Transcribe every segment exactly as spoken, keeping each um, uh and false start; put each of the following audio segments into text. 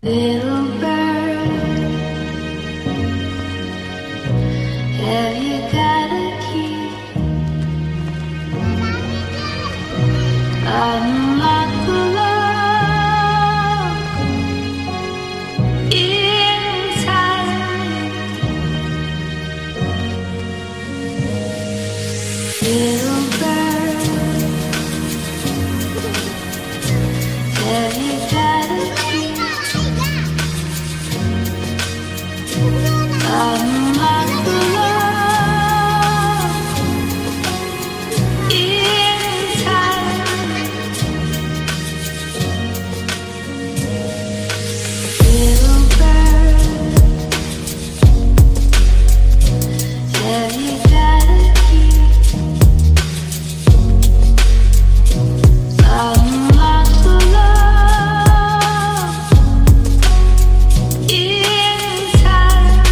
Little bird, have you got a key? Unlock the love inside. Little bird, have you got a key? Unlock the love inside. Little bird, have you got a key? Unlock the love inside.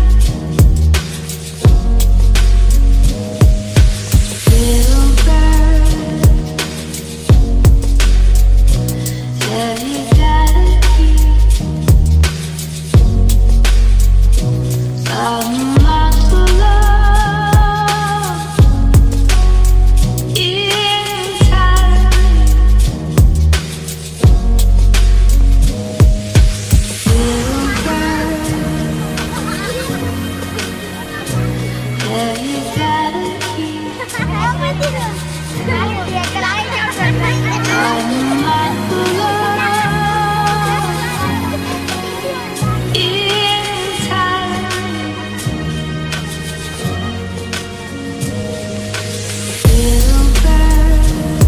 Little bird, have you got a key? Unlock the love inside. Little bird, have you got a key? Unlock the love inside. Little bird,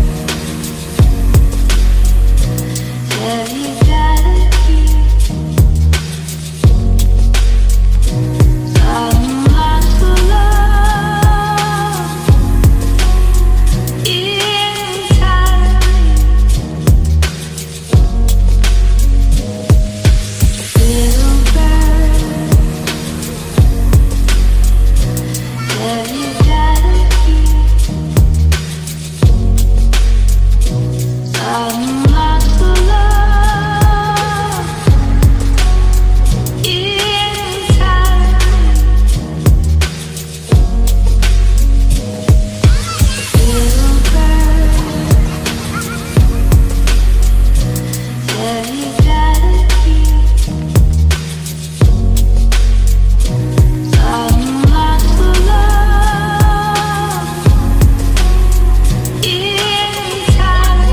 have you got a key? Unlock the love inside. Little bird, have you got a key? Unlock the love inside. Little bird, have you got a key? Unlock the love inside.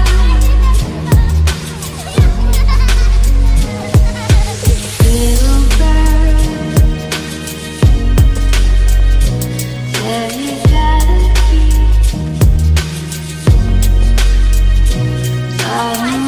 Little bird, have you got a key? Unlock